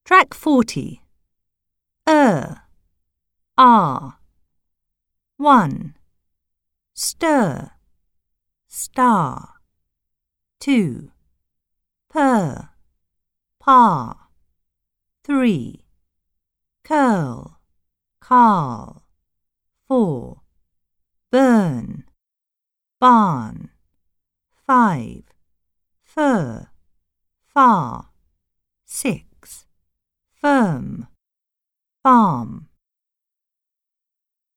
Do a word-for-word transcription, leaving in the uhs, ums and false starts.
Track forty. Er, ah. One. Stir, star. Two. Per, pa. Three. Curl, carl. Four. Burn, barn. Five. Fur, far. Six. Firm, farm.